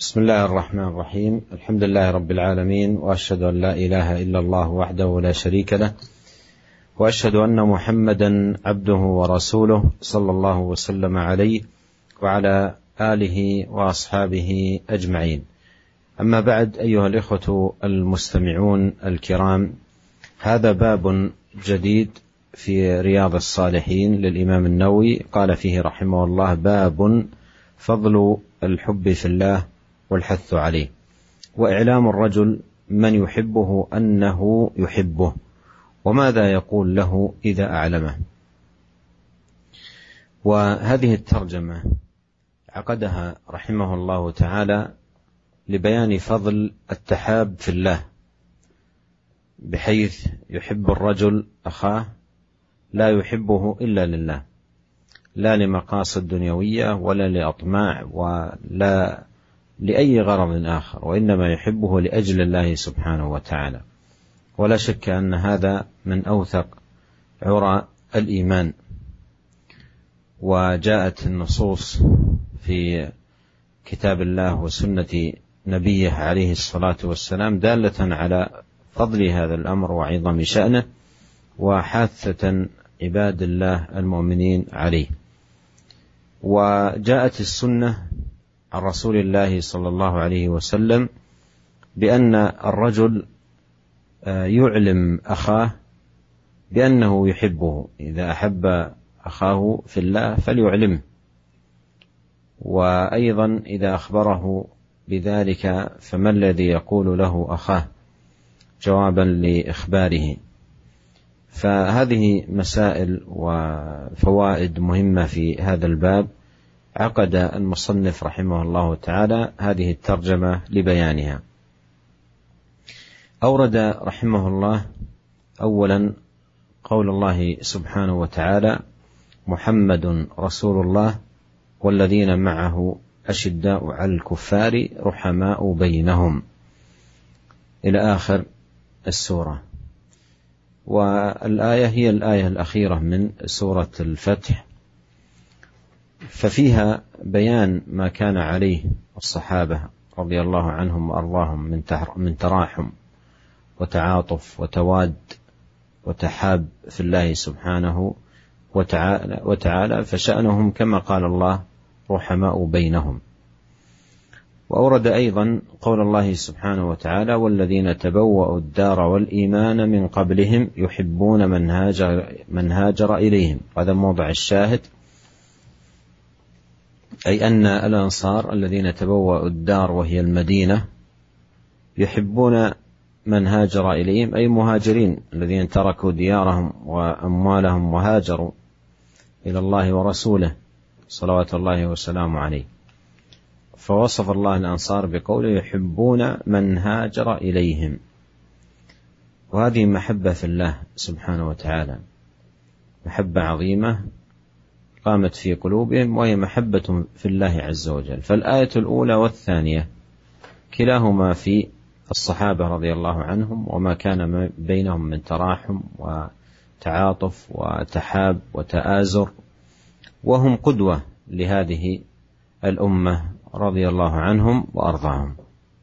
بسم الله الرحمن الرحيم. الحمد لله رب العالمين، وأشهد أن لا إله إلا الله وحده لا شريك له، وأشهد أن محمدا عبده ورسوله صلى الله وسلم عليه وعلى آله وأصحابه أجمعين. أما بعد، أيها الإخوة المستمعون الكرام، هذا باب جديد في رياض الصالحين للإمام النووي، قال فيه رحمه الله: باب فضل الحب في الله والحث عليه، وإعلام الرجل من يحبه أنه يحبه، وماذا يقول له إذا أعلمه. وهذه الترجمة عقدها رحمه الله تعالى لبيان فضل التحاب في الله، بحيث يحب الرجل أخاه لا يحبه إلا لله، لا لمقاصد دنيوية ولا لأطماع ولا لأي غرض آخر، وإنما يحبه لأجل الله سبحانه وتعالى. ولا شك أن هذا من أوثق عرى الإيمان، وجاءت النصوص في كتاب الله وسنة نبيه عليه الصلاة والسلام دالة على فضل هذا الأمر وعظم شأنه وحاثة عباد الله المؤمنين عليه. وجاءت السنة عن رسول الله صلى الله عليه وسلم بأن الرجل يعلم أخاه بأنه يحبه، إذا أحب أخاه في الله فليعلمه، وأيضا إذا أخبره بذلك فما الذي يقول له أخاه جوابا لإخباره. فهذه مسائل وفوائد مهمة في هذا الباب، عقد المصنف رحمه الله تعالى هذه الترجمة لبيانها. أورد رحمه الله أولا قول الله سبحانه وتعالى: محمد رسول الله والذين معه أشداء على الكفار رحماء بينهم، إلى آخر السورة. والآية هي الآية الأخيرة من سورة الفتح، ففيها بيان ما كان عليه الصحابة رضي الله عنهم وأرضاهم من تراحم وتعاطف وتواد وتحاب في الله سبحانه وتعالى، فشأنهم كما قال الله: رحماء بينهم. وأورد أيضا قول الله سبحانه وتعالى: والذين تبوأوا الدار والإيمان من قبلهم يحبون من هاجر إليهم. هذا موضع الشاهد، أي أن الأنصار الذين تبوأوا الدار وهي المدينة يحبون من هاجر إليهم، أي مهاجرين الذين تركوا ديارهم وأموالهم وهاجروا إلى الله ورسوله صلوات الله وسلامه عليه. فوصف الله الأنصار بقوله: يحبون من هاجر إليهم. وهذه محبة في الله سبحانه وتعالى، محبة عظيمة قامت في قلوبهم، وهي محبة في الله عز وجل. فالآية الأولى والثانية كلاهما في الصحابة رضي الله عنهم، وما كان بينهم من تراحم وتعاطف وتحاب وتآزر، وهم قدوة لهذه الأمة رضي الله عنهم وأرضاهم.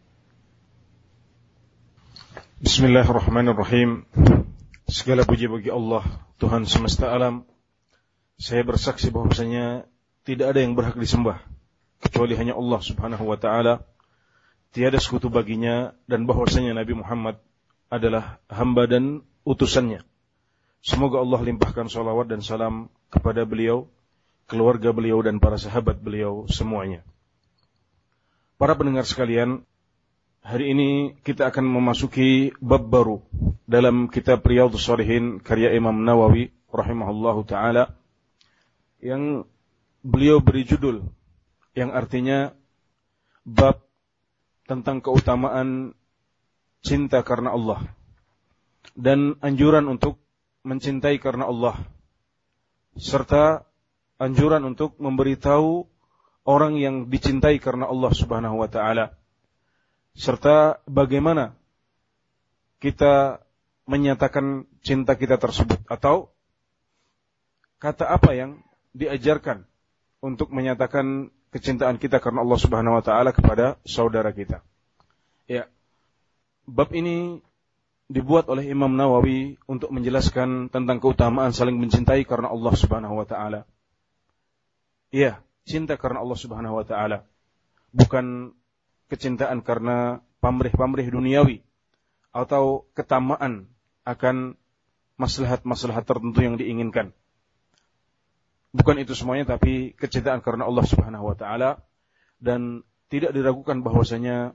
Bismillahirrahmanirrahim. Segala puji bagi Allah, Tuhan semesta alam. Saya bersaksi bahwasanya tidak ada yang berhak disembah kecuali hanya Allah Subhanahu wa taala. Tiada sekutu baginya, dan bahwasanya Nabi Muhammad adalah hamba dan utusannya. Semoga Allah limpahkan salawat dan salam kepada beliau, keluarga beliau, dan para sahabat beliau semuanya. Para pendengar sekalian, hari ini kita akan memasuki bab baru dalam kitab Riyadhus Shalihin karya Imam Nawawi rahimahullahu taala, yang beliau beri judul yang artinya bab tentang keutamaan cinta karena Allah dan anjuran untuk mencintai karena Allah, serta anjuran untuk memberitahu orang yang dicintai karena Allah Subhanahu wa taala, serta bagaimana kita menyatakan cinta kita tersebut, atau kata apa yang diajarkan untuk menyatakan kecintaan kita karena Allah Subhanahu wa taala kepada saudara kita. Ya. Bab ini dibuat oleh Imam Nawawi untuk menjelaskan tentang keutamaan saling mencintai karena Allah Subhanahu wa taala. Iya, cinta karena Allah Subhanahu wa taala. Bukan kecintaan karena pamrih-pamrih duniawi atau ketamaan akan maslahat-maslahat tertentu yang diinginkan. Bukan itu semuanya, tapi kecintaan karena Allah Subhanahu wa taala, dan tidak diragukan bahwasanya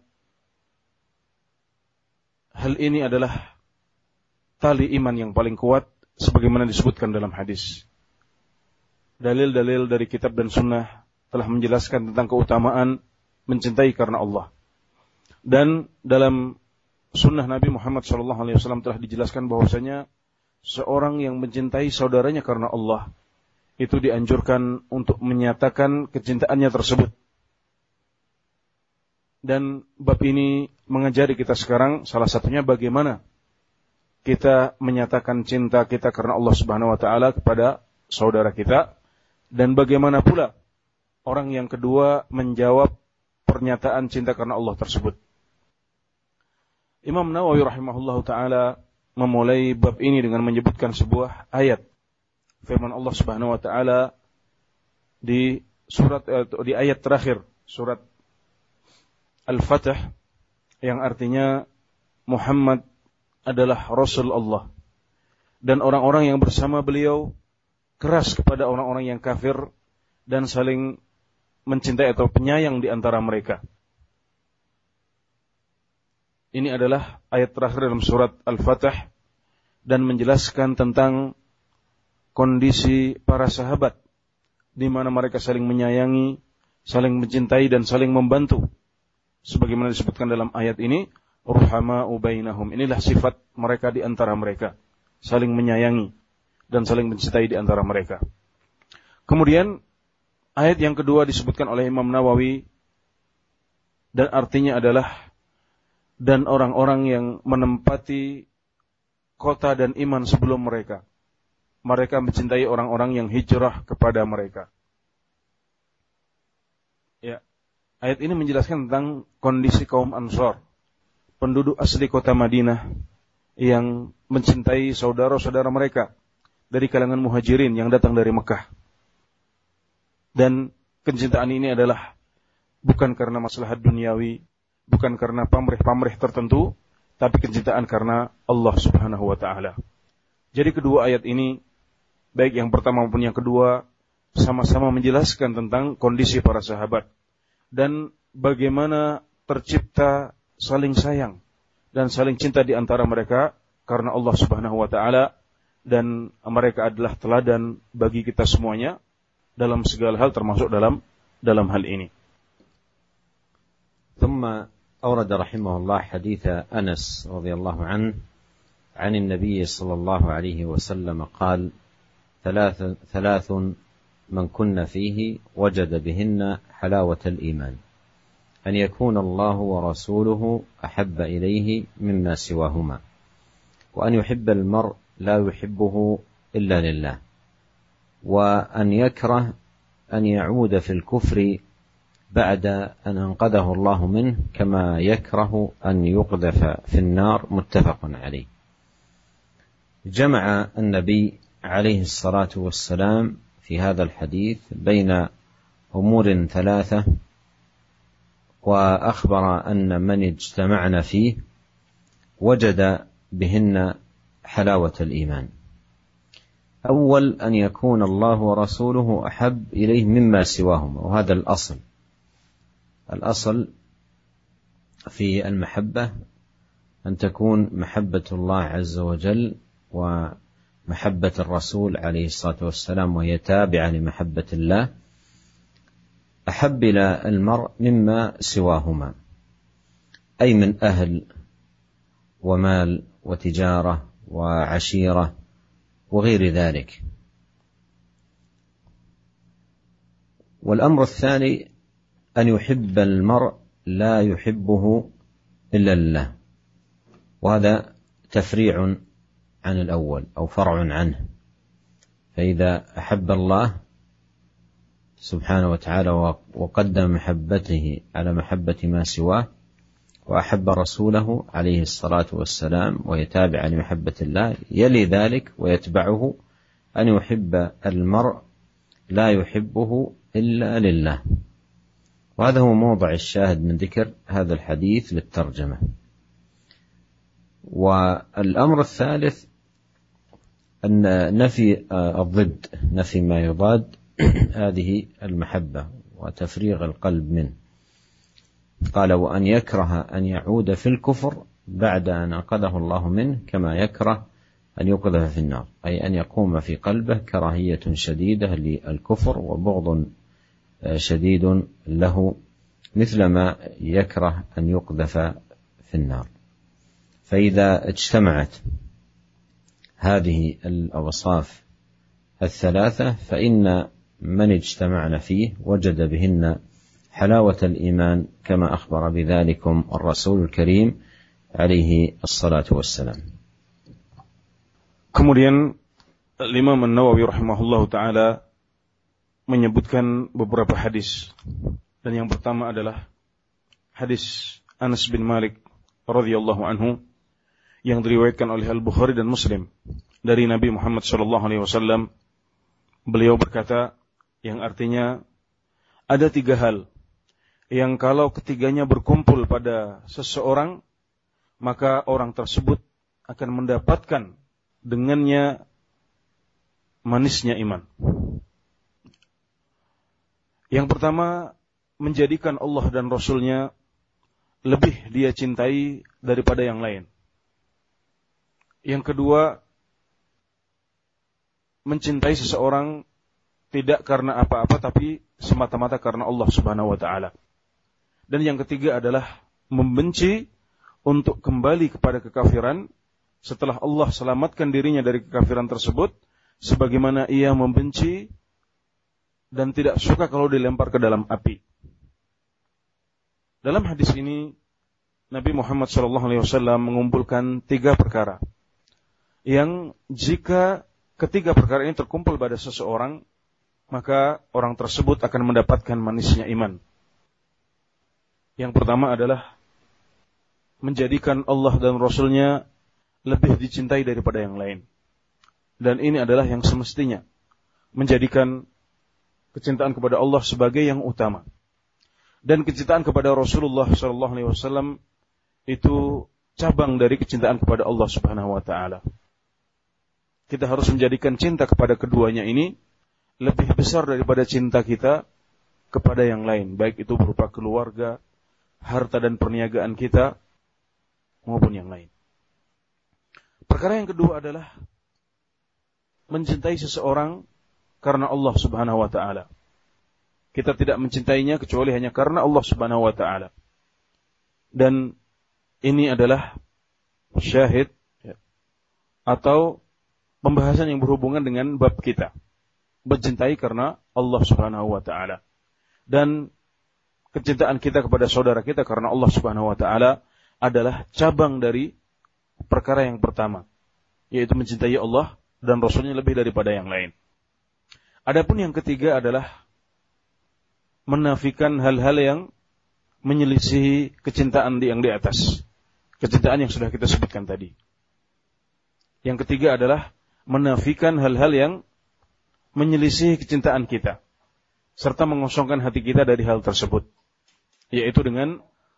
hal ini adalah tali iman yang paling kuat sebagaimana disebutkan dalam hadis. Dalil-dalil dari kitab dan sunnah telah menjelaskan tentang keutamaan mencintai karena Allah. Dan dalam sunnah Nabi Muhammad SAW telah dijelaskan bahwasanya seorang yang mencintai saudaranya karena Allah itu dianjurkan untuk menyatakan kecintaannya tersebut. Dan bab ini mengajari kita sekarang salah satunya bagaimana kita menyatakan cinta kita karena Allah Subhanahu wa taala kepada saudara kita, dan bagaimana pula orang yang kedua menjawab pernyataan cinta karena Allah tersebut. Imam Nawawi rahimahullahu taala memulai bab ini dengan menyebutkan sebuah ayat firman Allah Subhanahu wa taala di ayat terakhir surat Al-Fatih, yang artinya Muhammad adalah Rasul Allah, dan orang-orang yang bersama beliau keras kepada orang-orang yang kafir dan saling mencintai atau penyayang di antara mereka. Ini adalah ayat terakhir dalam surat Al-Fatih dan menjelaskan tentang kondisi para sahabat di mana mereka saling menyayangi, saling mencintai dan saling membantu. Sebagaimana disebutkan dalam ayat ini, ruhama'u bainahum. Inilah sifat mereka di antara mereka, saling menyayangi dan saling mencintai di antara mereka. Kemudian ayat yang kedua disebutkan oleh Imam Nawawi dan artinya adalah dan orang-orang yang menempati kota dan iman sebelum mereka. Mereka mencintai orang-orang yang hijrah kepada mereka. Ya, ayat ini menjelaskan tentang kondisi kaum Ansar, penduduk asli kota Madinah yang mencintai saudara-saudara mereka dari kalangan muhajirin yang datang dari Mekah. Dan kecintaan ini adalah bukan karena maslahat duniawi, bukan karena pamrih-pamrih tertentu, tapi kecintaan karena Allah Subhanahu wa taala. Jadi kedua ayat ini, baik yang pertama maupun yang kedua, sama-sama menjelaskan tentang kondisi para sahabat dan bagaimana tercipta saling sayang dan saling cinta di antara mereka karena Allah Subhanahu wa taala, dan mereka adalah teladan bagi kita semuanya dalam segala hal, termasuk dalam hal ini. ثم أورد رحمه الله حديث أنس رضي الله عنه عن النبي صلى الله عليه وسلم قال: ثلاث من كن فيه وجد بهن حلاوة الإيمان: أن يكون الله ورسوله أحب إليه مما سواهما، وأن يحب المرء لا يحبه إلا لله، وأن يكره أن يعود في الكفر بعد أن أنقذه الله منه كما يكره أن يقذف في النار. متفق عليه. جمع النبي عليه الصلاة والسلام في هذا الحديث بين أمور ثلاثة، وأخبر أن من اجتمعن فيه وجد بهن حلاوة الإيمان. أول أن يكون الله ورسوله أحب إليه مما سواهما، وهذا الأصل في المحبة أن تكون محبة الله عز وجل ومحبة الرسول عليه الصلاة والسلام، وهي تابعة لمحبة الله، أحب إلى المرء مما سواهما، أي من أهل ومال وتجارة وعشيرة وغير ذلك. والأمر الثاني أن يحب المرء لا يحبه إلا الله، وهذا تفريع عن الأول أو فرع عنه. فإذا أحب الله سبحانه وتعالى وقدم محبته على محبة ما سواه، وأحب رسوله عليه الصلاة والسلام ويتابع لمحبة الله، يلي ذلك ويتبعه أن يحب المرء لا يحبه إلا لله. وهذا هو موضع الشاهد من ذكر هذا الحديث للترجمة. والأمر الثالث أن نفي الضد، نفي ما يضاد هذه المحبة وتفريغ القلب منه. قال: وأن يكره أن يعود في الكفر بعد أن أنقذه الله منه كما يكره أن يقذف في النار، أي أن يقوم في قلبه كراهية شديدة للكفر وبغض شديد له، مثلما يكره أن يقذف في النار. فإذا اجتمعت هذه الأوصاف الثلاثة فإن من اجتمعنا فيه وجد بهن حلاوة الإيمان كما أخبر بذلكم الرسول الكريم عليه الصلاة والسلام. Kemudian Imam An-Nawawi rahimahullahu ta'ala menyebutkan beberapa hadis. Dan yang pertama adalah hadis Anas bin Malik radhiyallahu anhu yang diriwayatkan oleh Al-Bukhari dan Muslim dari Nabi Muhammad sallallahu alaihi wasallam. Beliau berkata, yang artinya ada 3 hal yang kalau ketiganya berkumpul pada seseorang, maka orang tersebut akan mendapatkan dengannya manisnya iman. Yang pertama, menjadikan Allah dan Rasul-Nya lebih dia cintai daripada yang lain. Yang kedua, mencintai seseorang tidak karena apa-apa, tapi semata-mata karena Allah Subhanahu wa ta'ala. Dan yang ketiga adalah membenci untuk kembali kepada kekafiran setelah Allah selamatkan dirinya dari kekafiran tersebut, sebagaimana ia membenci dan tidak suka kalau dilempar ke dalam api. Dalam hadis ini, Nabi Muhammad SAW mengumpulkan 3 perkara yang jika ketiga perkara ini terkumpul pada seseorang, maka orang tersebut akan mendapatkan manisnya iman. Yang pertama adalah menjadikan Allah dan Rasul-Nya lebih dicintai daripada yang lain. Dan ini adalah yang semestinya, menjadikan kecintaan kepada Allah sebagai yang utama. Dan kecintaan kepada Rasulullah SAW itu cabang dari kecintaan kepada Allah Subhanahu wa ta'ala. Kita harus menjadikan cinta kepada keduanya ini lebih besar daripada cinta kita kepada yang lain, baik itu berupa keluarga, harta dan perniagaan kita, maupun yang lain. Perkara yang kedua adalah mencintai seseorang karena Allah Subhanahu wa ta'ala. Kita tidak mencintainya kecuali hanya karena Allah Subhanahu wa ta'ala. Dan ini adalah syahid atau pembahasan yang berhubungan dengan bab kita. Mencintai karena Allah Subhanahu wa ta'ala. Dan kecintaan kita kepada saudara kita karena Allah Subhanahu wa ta'ala adalah cabang dari perkara yang pertama, yaitu mencintai Allah dan Rasulnya lebih daripada yang lain. Adapun yang ketiga adalah menafikan hal-hal yang menyelisihi kecintaan yang di atas, kecintaan yang sudah kita sebutkan tadi. Yang ketiga adalah menafikan hal-hal yang menyelisihi kecintaan kita, serta mengosongkan hati kita dari hal tersebut, yaitu dengan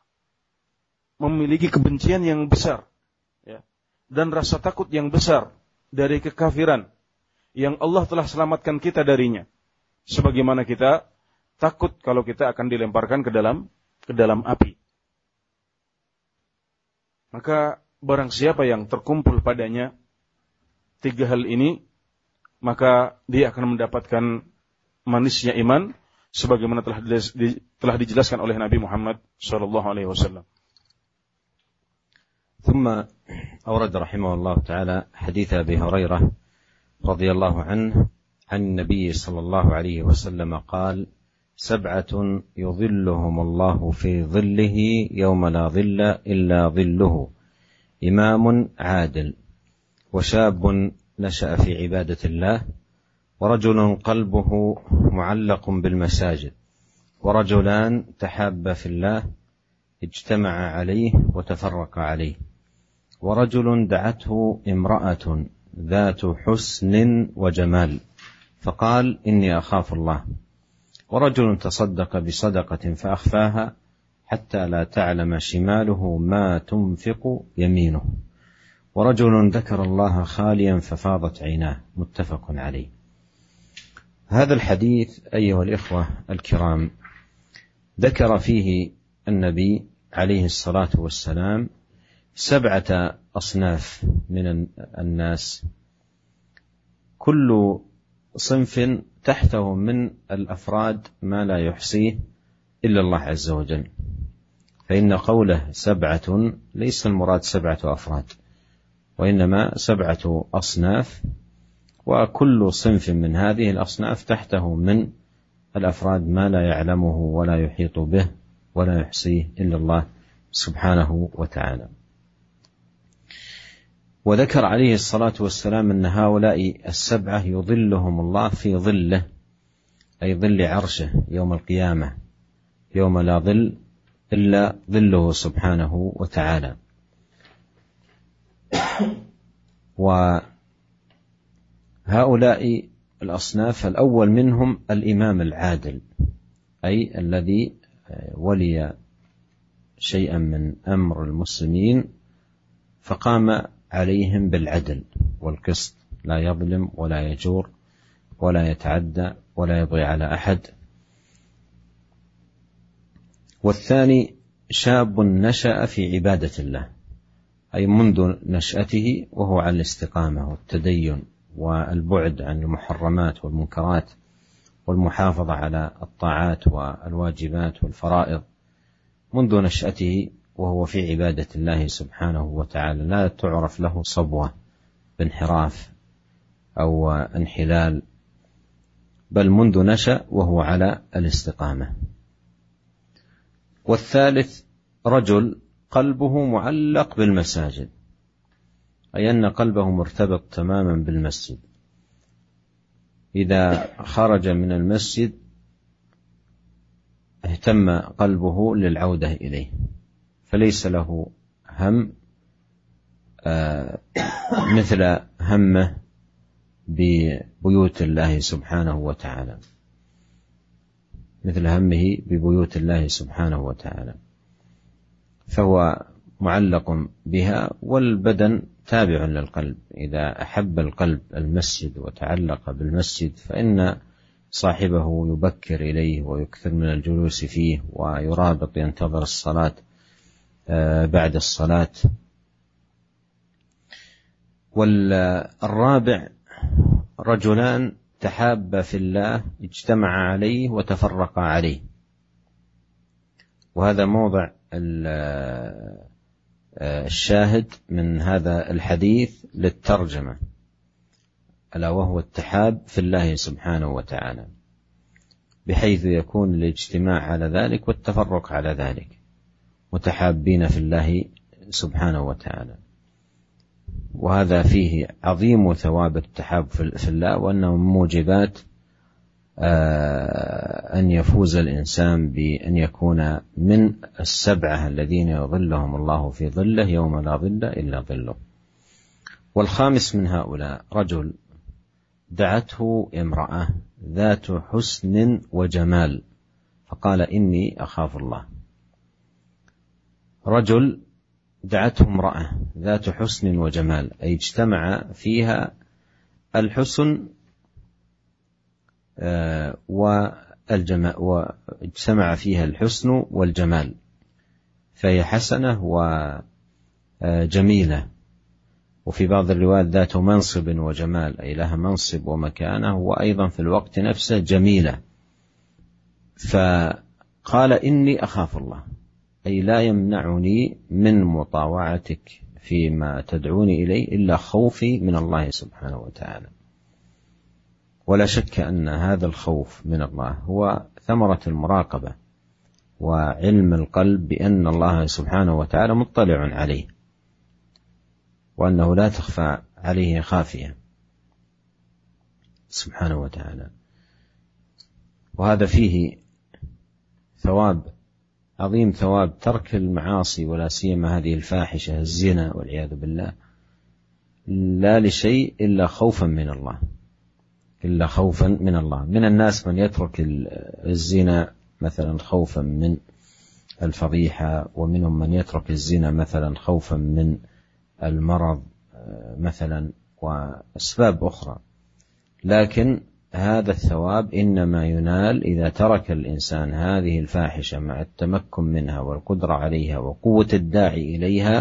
memiliki kebencian yang besar dan rasa takut yang besar dari kekafiran yang Allah telah selamatkan kita darinya, sebagaimana kita takut kalau kita akan dilemparkan ke dalam api. Maka barang siapa yang terkumpul padanya 3 hal ini, maka dia akan mendapatkan manisnya iman, sebagaimana telah dijelaskan oleh Nabi Muhammad SAW. ثم أورد رحمه الله تعالى حديث أبي هريرة رضي الله عنه عن النبي صلى الله عليه وسلم قال: 7 يظلهم الله في ظله يوم لا ظل إلا ظله، إمام عادل، وشاب نشأ في عبادة الله، ورجل قلبه معلق بالمساجد، ورجلان تحابا في الله اجتمع عليه وتفرق عليه، ورجل دعته امرأة ذات حسن وجمال فقال إني أخاف الله، ورجل تصدق بصدقة فأخفاها حتى لا تعلم شماله ما تنفق يمينه، ورجل ذكر الله خاليا ففاضت عيناه. متفق عليه. هذا الحديث أيها الإخوة الكرام ذكر فيه النبي عليه الصلاة والسلام 7 أصناف من الناس، كل صنف تحته من الأفراد ما لا يحصيه إلا الله عز وجل، فإن قوله 7 ليس المراد 7 أفراد، وإنما 7 أصناف، وكل صنف من هذه الأصناف تحته من الأفراد ما لا يعلمه ولا يحيط به ولا يحصيه إلا الله سبحانه وتعالى. وذكر عليه الصلاة والسلام أن هؤلاء 7 يظلهم الله في ظله، أي ظل عرشه يوم القيامة، يوم لا ظل إلا ظله سبحانه وتعالى. وهؤلاء الأصناف الأول منهم الإمام العادل، أي الذي ولي شيئا من أمر المسلمين فقام عليهم بالعدل والقسط، لا يظلم ولا يجور ولا يتعدى ولا يبغي على أحد. والثاني شاب نشأ في عبادة الله، أي منذ نشأته وهو على الاستقامة والتدين والبعد عن المحرمات والمنكرات والمحافظة على الطاعات والواجبات والفرائض، منذ نشأته وهو في عبادة الله سبحانه وتعالى، لا تعرف له صبوة بانحراف أو انحلال، بل منذ نشأ وهو على الاستقامة. والثالث رجل قلبه معلق بالمساجد، أي أن قلبه مرتبط تماما بالمسجد، إذا خرج من المسجد اهتم قلبه للعودة إليه، فليس له هم مثل همه ببيوت الله سبحانه وتعالى، مثل همه ببيوت الله سبحانه وتعالى، فهو معلق بها، والبدن تابع للقلب، إذا أحب القلب المسجد وتعلق بالمسجد فإن صاحبه يبكر إليه ويكثر من الجلوس فيه ويرابط ينتظر الصلاة بعد الصلاة. والرابع رجلان تحابا في الله اجتمع عليه وتفرقا عليه، وهذا موضع الشاهد من هذا الحديث للترجمة، ألا وهو التحاب في الله سبحانه وتعالى، بحيث يكون الاجتماع على ذلك والتفرق على ذلك، متحابين في الله سبحانه وتعالى. وهذا فيه عظيم ثواب التحاب في الله، وأنه من موجبات أن يفوز الإنسان بأن يكون من 7 الذين يظلهم الله في ظله يوم لا ظل إلا ظله. والخامس من هؤلاء رجل دعته امرأة ذات حسن وجمال فقال إني أخاف الله. رجل دعته امرأة ذات حسن وجمال، أي اجتمع فيها الحسن والجمال، واجتمع فيها الحسن والجمال، فهي حسنة وجميلة. وفي بعض الروايات ذات منصب وجمال، أي لها منصب ومكانة، وأيضا في الوقت نفسه جميلة. فقال إني أخاف الله، أي لا يمنعني من مطاوعتك فيما تدعوني إليه إلا خوفي من الله سبحانه وتعالى. ولا شك أن هذا الخوف من الله هو ثمرة المراقبة وعلم القلب بأن الله سبحانه وتعالى مطلع عليه، وأنه لا تخفى عليه خافية، سبحانه وتعالى. وهذا فيه ثواب عظيم، ثواب ترك المعاصي ولا سيما هذه الفاحشة الزنا والعياذ بالله، لا لشيء إلا خوفا من الله، إلا خوفا من الله. من الناس من يترك الزنا مثلا خوفا من الفضيحة، ومنهم من يترك الزنا مثلا خوفا من المرض مثلا وأسباب أخرى، لكن هذا الثواب إنما ينال إذا ترك الإنسان هذه الفاحشة مع التمكن منها والقدرة عليها وقوة الداعي إليها،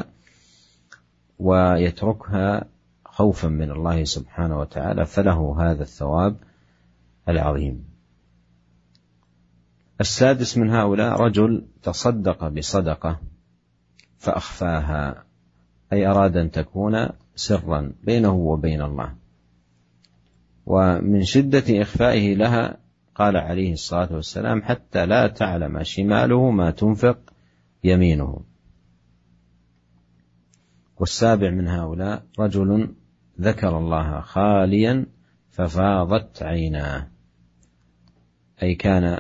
ويتركها خوفا من الله سبحانه وتعالى، فله هذا الثواب العظيم. السادس من هؤلاء رجل تصدق بصدقة فأخفاها، أي أراد أن تكون سرا بينه وبين الله، ومن شدة إخفائه لها قال عليه الصلاة والسلام: حتى لا تعلم شماله ما تنفق يمينه. والسابع من هؤلاء رجل ذكر الله خاليا ففاضت عيناه، أي كان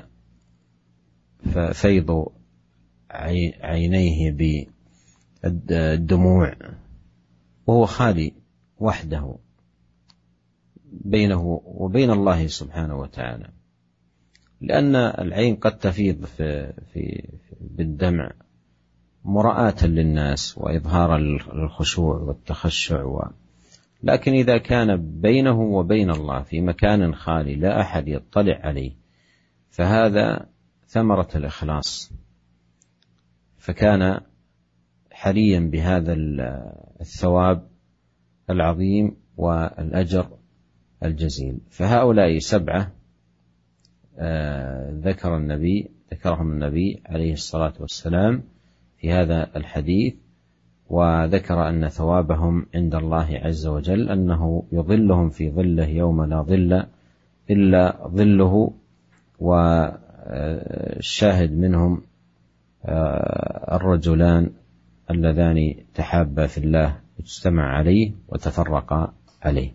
فيض عينيه بالدموع وهو خالي وحده بينه وبين الله سبحانه وتعالى، لأن العين قد تفيض بالدمع مراءة للناس وإظهار الخشوع والتخشع، لكن إذا كان بينه وبين الله في مكان خالي لا أحد يطلع عليه فهذا ثمرة الإخلاص، فكان حريا بهذا الثواب العظيم والأجر الجزيل. فهؤلاء 7 ذكرهم النبي عليه الصلاة والسلام في هذا الحديث، وذكر أن ثوابهم عند الله عز وجل أنه يظلهم في ظله يوم لا ظل إلا ظله. والشاهد منهم الرجلان اللذان تحابا في الله اجتمع عليه وتفرقا عليه.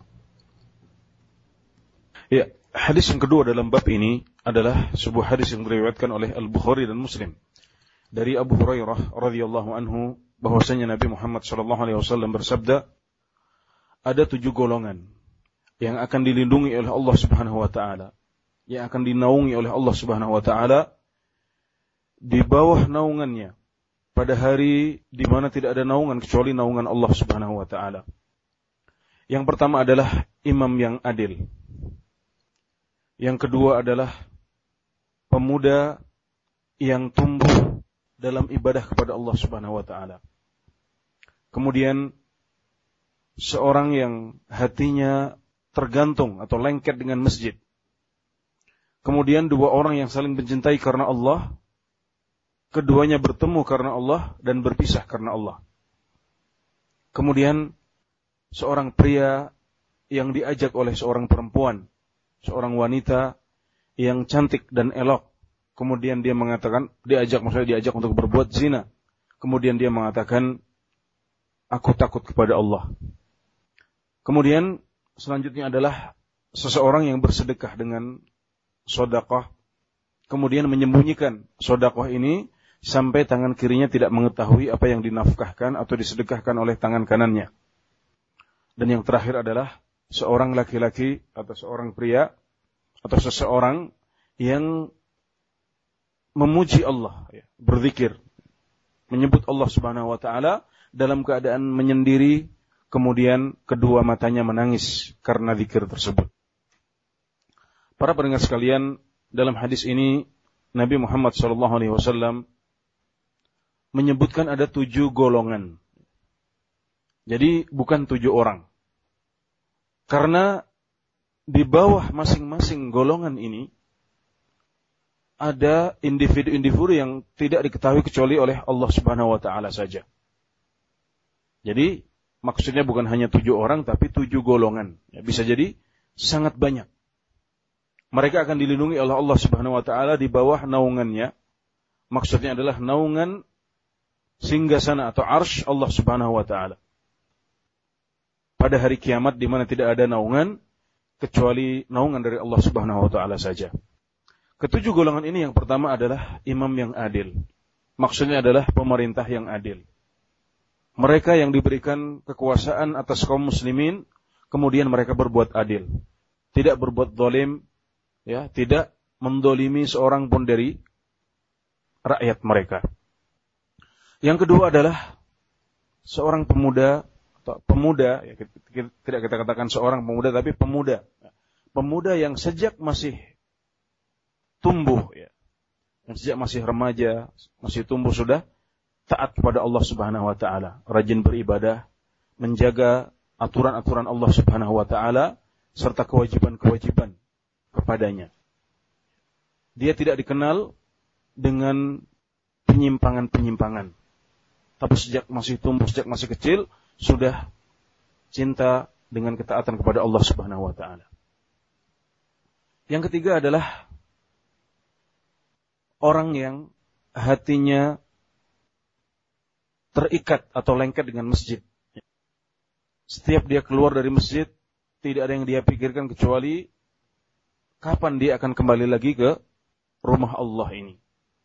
Ya, hadis yang kedua dalam bab ini adalah sebuah hadis yang diriwayatkan oleh Al-Bukhari dan Muslim dari Abu Hurairah radhiyallahu anhu bahwasanya Nabi Muhammad sallallahu alaihi wasallam bersabda, ada 7 golongan yang akan dilindungi oleh Allah Subhanahu wa taala, yang akan dinaungi oleh Allah Subhanahu wa taala di bawah naungannya pada hari di mana tidak ada naungan kecuali naungan Allah Subhanahu wa taala. Yang pertama adalah imam yang adil. Yang kedua adalah pemuda yang tumbuh dalam ibadah kepada Allah Subhanahu wa taala. Kemudian seorang yang hatinya tergantung atau lengket dengan masjid. Kemudian 2 orang yang saling mencintai karena Allah, keduanya bertemu karena Allah dan berpisah karena Allah. Kemudian seorang pria yang diajak oleh seorang perempuan, seorang wanita yang cantik dan elok. Kemudian dia mengatakan, diajak untuk berbuat zina. Kemudian dia mengatakan, aku takut kepada Allah. Kemudian selanjutnya adalah seseorang yang bersedekah dengan sedekah, kemudian menyembunyikan sedekah ini sampai tangan kirinya tidak mengetahui apa yang dinafkahkan atau disedekahkan oleh tangan kanannya. Dan yang terakhir adalah seorang laki-laki atau seorang pria atau seseorang yang memuji Allah, berzikir, menyebut Allah Subhanahu wa taala dalam keadaan menyendiri, kemudian kedua matanya menangis karena zikir tersebut. Para pendengar sekalian, dalam hadis ini Nabi Muhammad SAW menyebutkan ada 7 golongan. Jadi bukan 7 orang. Karena di bawah masing-masing golongan ini ada individu-individu yang tidak diketahui kecuali oleh Allah Subhanahu wa taala saja. Jadi maksudnya bukan hanya 7 orang tapi 7 golongan. Ya, bisa jadi sangat banyak. Mereka akan dilindungi oleh Allah Subhanahu wa taala di bawah naungannya. Maksudnya adalah naungan singgasana atau arsy Allah Subhanahu wa taala. Pada hari kiamat di mana tidak ada naungan kecuali naungan dari Allah Subhanahu wa taala saja. Ketujuh golongan ini yang pertama adalah imam yang adil. Maksudnya adalah pemerintah yang adil. Mereka yang diberikan kekuasaan atas kaum muslimin, kemudian mereka berbuat adil. Tidak berbuat zalim, ya, tidak mendolimi seorang pun dari rakyat mereka. Yang kedua adalah seorang pemuda, atau pemuda, ya, tidak kita katakan seorang pemuda, tapi pemuda. Pemuda yang sejak masih tumbuh, ya, yang sejak masih remaja, masih tumbuh sudah taat kepada Allah Subhanahu wa taala, rajin beribadah, menjaga aturan-aturan Allah Subhanahu wa taala serta kewajiban-kewajiban kepadanya. Dia tidak dikenal dengan penyimpangan-penyimpangan. Tapi sejak masih tumbuh, sejak masih kecil, sudah cinta dengan ketaatan kepada Allah Subhanahu wa taala. Yang ketiga adalah orang yang hatinya terikat atau lengket dengan masjid. Setiap dia keluar dari masjid, tidak ada yang dia pikirkan kecuali kapan dia akan kembali lagi ke rumah Allah ini.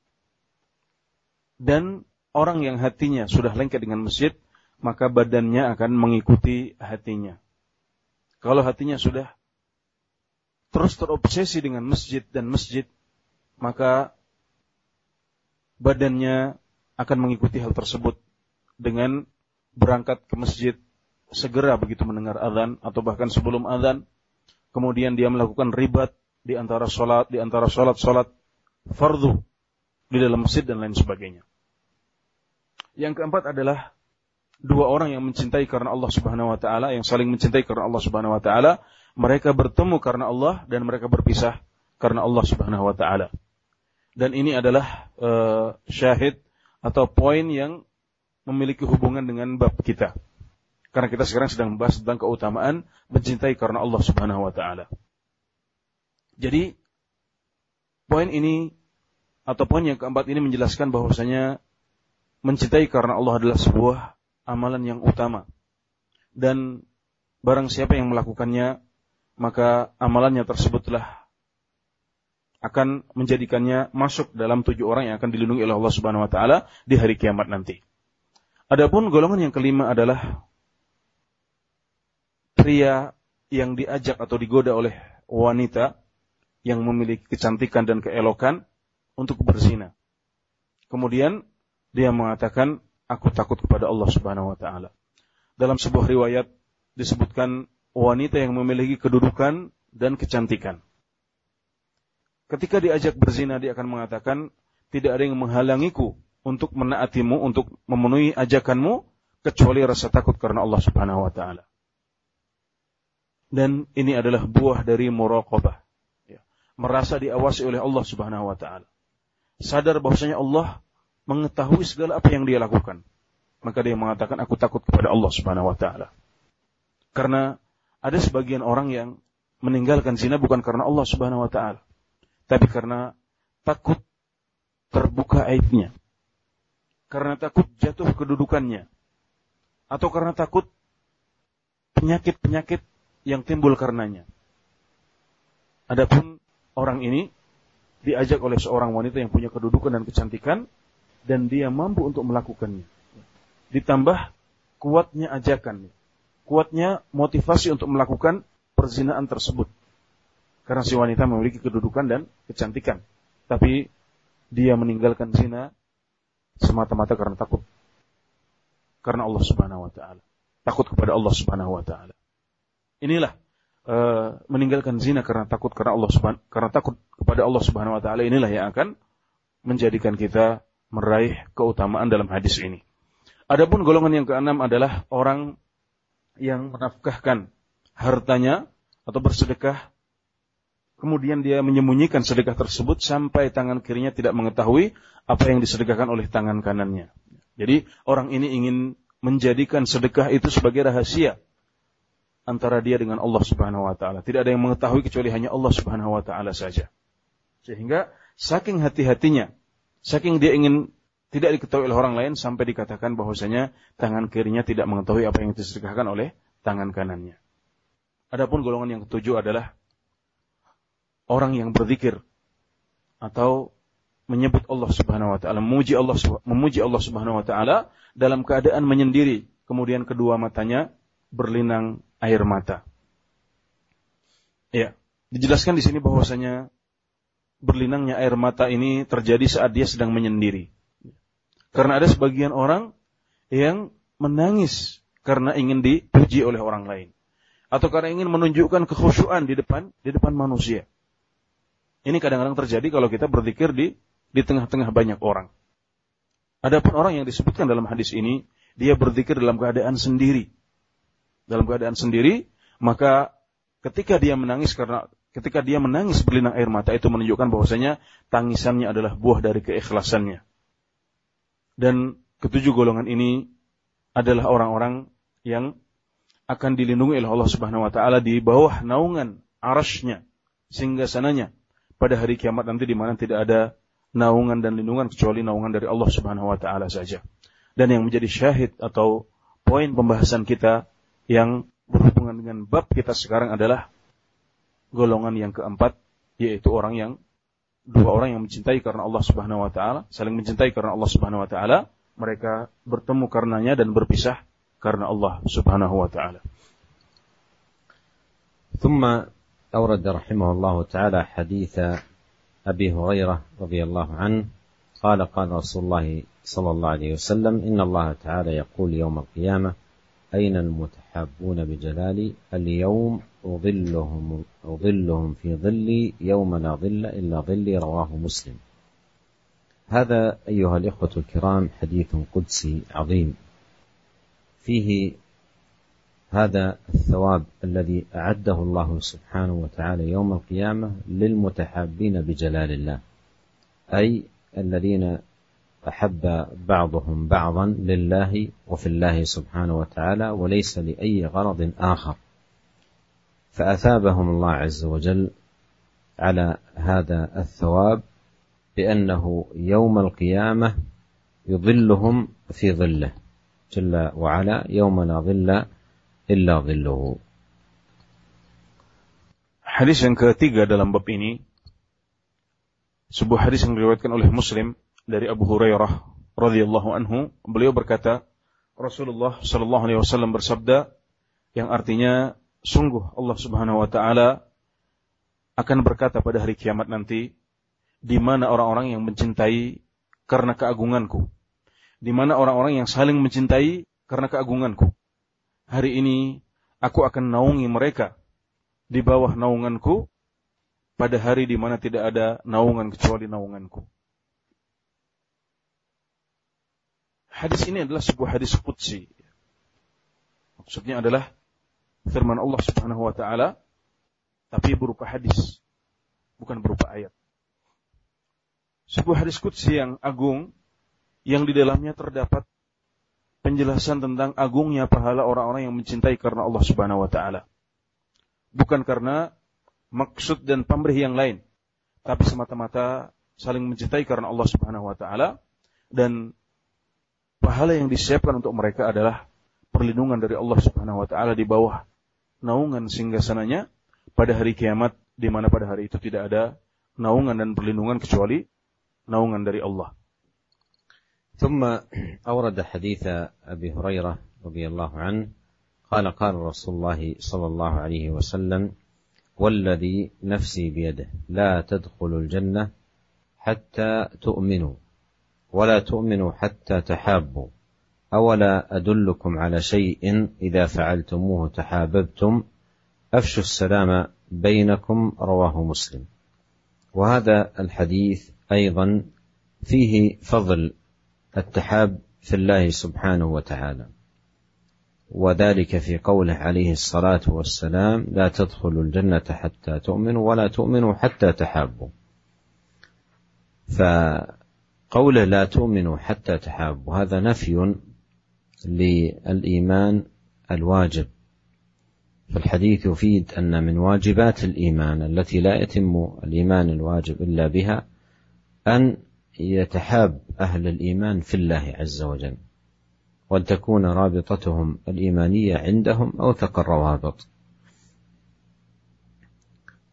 Dan orang yang hatinya sudah lengket dengan masjid, maka badannya akan mengikuti hatinya. Kalau hatinya sudah terus terobsesi dengan masjid dan masjid, maka badannya akan mengikuti hal tersebut dengan berangkat ke masjid segera begitu mendengar azan atau bahkan sebelum azan. Kemudian dia melakukan ribat di antara salat fardhu di dalam masjid dan lain sebagainya. Yang keempat adalah dua orang yang mencintai karena Allah Subhanahu wa taala, yang saling mencintai karena Allah Subhanahu wa taala, mereka bertemu karena Allah dan mereka berpisah karena Allah Subhanahu wa taala. Dan ini adalah syahid atau poin yang memiliki hubungan dengan bab kita. Karena kita sekarang sedang membahas tentang keutamaan mencintai karena Allah Subhanahu wa taala. Jadi poin ini atau poin yang keempat ini menjelaskan bahwasanya mencintai karena Allah adalah sebuah amalan yang utama. Dan barang siapa yang melakukannya, maka amalannya tersebutlah akan menjadikannya masuk dalam 7 orang yang akan dilindungi oleh Allah Subhanahu wa taala di hari kiamat nanti. Adapun golongan yang kelima adalah pria yang diajak atau digoda oleh wanita yang memiliki kecantikan dan keelokan untuk berzina. Kemudian dia mengatakan, aku takut kepada Allah Subhanahu wa taala. Dalam sebuah riwayat disebutkan wanita yang memiliki kedudukan dan kecantikan. Ketika diajak berzina, dia akan mengatakan, tidak ada yang menghalangiku untuk menaatimu, untuk memenuhi ajakanmu, kecuali rasa takut karena Allah Subhanahu wa taala. Dan ini adalah buah dari muraqabah. Ya. Merasa diawasi oleh Allah Subhanahu wa taala. Sadar bahwasanya Allah mengetahui segala apa yang dia lakukan. Maka dia mengatakan, aku takut kepada Allah Subhanahu wa taala. Karena ada sebagian orang yang meninggalkan zina bukan karena Allah Subhanahu wa taala, tapi karena takut terbuka aibnya, karena takut jatuh kedudukannya, atau karena takut penyakit-penyakit yang timbul karenanya. Adapun orang ini diajak oleh seorang wanita yang punya kedudukan dan kecantikan, dan dia mampu untuk melakukannya. Ditambah kuatnya ajakan, kuatnya motivasi untuk melakukan perzinaan tersebut. Karena si wanita memiliki kedudukan dan kecantikan, tapi dia meninggalkan zina semata-mata karena takut karena Allah Subhanahu wa taala. Takut kepada Allah Subhanahu wa taala. Inilah meninggalkan zina karena takut kepada Allah Subhanahu wa taala, inilah yang akan menjadikan kita meraih keutamaan dalam hadis ini. Adapun golongan yang keenam adalah orang yang menafkahkan hartanya atau bersedekah, kemudian dia menyembunyikan sedekah tersebut sampai tangan kirinya tidak mengetahui apa yang disedekahkan oleh tangan kanannya. Jadi orang ini ingin menjadikan sedekah itu sebagai rahasia antara dia dengan Allah Subhanahu wa taala. Tidak ada yang mengetahui kecuali hanya Allah Subhanahu wa taala saja. Sehingga saking hati-hatinya, saking dia ingin tidak diketahui oleh orang lain, sampai dikatakan bahwasanya tangan kirinya tidak mengetahui apa yang disedekahkan oleh tangan kanannya. Adapun golongan yang ketujuh adalah orang yang berzikir atau menyebut Allah Subhanahu wa taala, memuji Allah Subhanahu wa taala dalam keadaan menyendiri, kemudian kedua matanya berlinang air mata. Ya, dijelaskan di sini bahwasanya berlinangnya air mata ini terjadi saat dia sedang menyendiri. Karena ada sebagian orang yang menangis karena ingin dipuji oleh orang lain, atau karena ingin menunjukkan kekhusyuan di depan manusia. Ini kadang-kadang terjadi kalau kita berzikir di tengah-tengah banyak orang. Adapun orang yang disebutkan dalam hadis ini, dia berzikir dalam keadaan sendiri. Dalam keadaan sendiri, maka ketika dia menangis berlinang air mata, itu menunjukkan bahwasanya tangisannya adalah buah dari keikhlasannya. Dan ketujuh golongan ini adalah orang-orang yang akan dilindungi oleh Allah Subhanahu wa taala di bawah naungan arasy-Nya singgasananya pada hari kiamat nanti, di mana tidak ada naungan dan lindungan kecuali naungan dari Allah Subhanahu wa taala saja. Dan yang menjadi syahid atau poin pembahasan kita yang berhubungan dengan bab kita sekarang adalah golongan yang keempat, yaitu dua orang yang mencintai karena Allah Subhanahu wa taala, saling mencintai karena Allah Subhanahu wa taala, mereka bertemu karenanya dan berpisah karena Allah Subhanahu wa taala. ثم أورد رحمه الله تعالى حديث أبي هريرة رضي الله عنه قال رسول الله صلى الله عليه وسلم إن الله تعالى يقول يوم القيامة أين المتحابون بجلالي اليوم أظلهم في ظلي يوم لا ظل إلا ظلي رواه مسلم. هذا أيها الإخوة الكرام حديث قدسي عظيم فيه هذا الثواب الذي أعده الله سبحانه وتعالى يوم القيامة للمتحابين بجلال الله، أي الذين أحب بعضهم بعضا لله وفي الله سبحانه وتعالى وليس لأي غرض آخر، فأثابهم الله عز وجل على هذا الثواب بأنه يوم القيامة يظلهم في ظله جل وعلا يوم لا ظل إلا ظله. Hadis yang ketiga dalam bab ini, sebuah hadis yang diriwayatkan oleh Muslim dari Abu Hurairah radhiyallahu anhu. Beliau berkata, Rasulullah sallallahu alaihi wasallam bersabda, yang artinya sungguh Allah Subhanahu wa taala akan berkata pada hari kiamat nanti, di mana orang-orang yang mencintai karena keagunganku, di mana orang-orang yang saling mencintai karena keagunganku. Hari ini aku akan naungi mereka di bawah naunganku pada hari di mana tidak ada naungan kecuali naunganku. Hadis ini adalah sebuah hadis qudsi. Maksudnya adalah firman Allah Subhanahu wa taala, tapi berupa hadis, bukan berupa ayat. Sebuah hadis qudsi yang agung, yang di dalamnya terdapat penjelasan tentang agungnya pahala orang-orang yang mencintai karena Allah Subhanahu wa taala. Bukan karena maksud dan pamrih yang lain, tapi semata-mata saling mencintai karena Allah Subhanahu wa taala, dan pahala yang disiapkan untuk mereka adalah perlindungan dari Allah Subhanahu wa taala di bawah naungan singgasananya pada hari kiamat, di mana pada hari itu tidak ada naungan dan perlindungan kecuali naungan dari Allah. ثم أورد حديث أبي هريرة رضي الله عنه قال رسول الله صلى الله عليه وسلم والذي نفسي بيده لا تدخلوا الجنة حتى تؤمنوا ولا تؤمنوا حتى تحابوا أولا أدلكم على شيء إذا فعلتموه تحاببتم أفشوا السلام بينكم رواه مسلم. وهذا الحديث أيضا فيه فضل التحاب في الله سبحانه وتعالى، وذلك في قوله عليه الصلاة والسلام لا تدخلوا الجنة حتى تؤمنوا ولا تؤمنوا حتى تحابوا. فقوله لا تؤمنوا حتى تحابوا هذا نفي للإيمان الواجب. فالحديث يفيد أن من واجبات الإيمان التي لا يتم الإيمان الواجب إلا بها أن يتحاب أهل الإيمان في الله عز وجل، وأن تكون رابطتهم الإيمانية عندهم أوثق الروابط.